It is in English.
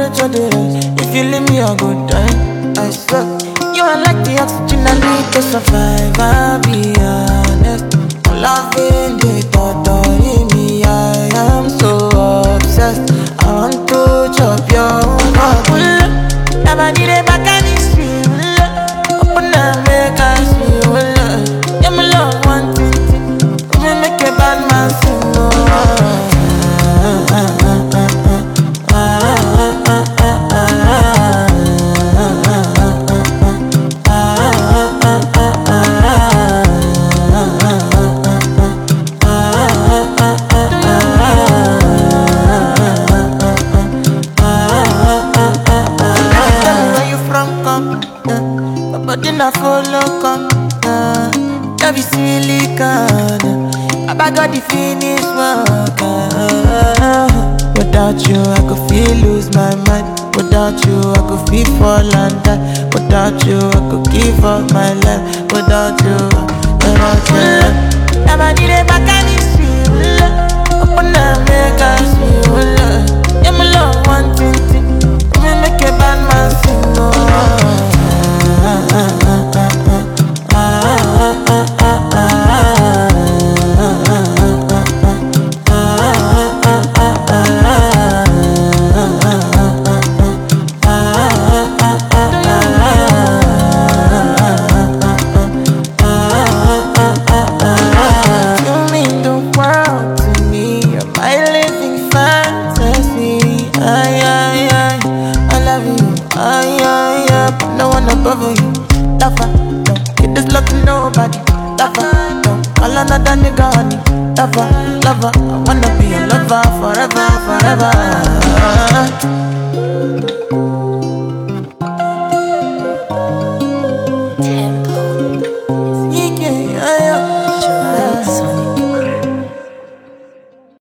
to the rest. If you leave me, I go die. I swear. You are like the oxygen I need to survive. I'll be honest. Loving the thought of me, I am so obsessed. I want to chop your heart. Never did it back and it's real. Open and make us feel. Yeah, my love one thing. We make a bad man sing. But then I follow come, love is silicone. I got the finish work. Without you, I could feel lose my mind. Without you, I could feel fall and die. Without you, I could give up my life. Without you, never did it back and it's real. Open and make us feel. Yeah, my love one thing. We make a bad man sing. No one above you. Lover, don't get this love to nobody. Lover, don't call another nigga honey. Lover, I wanna be a lover forever, forever.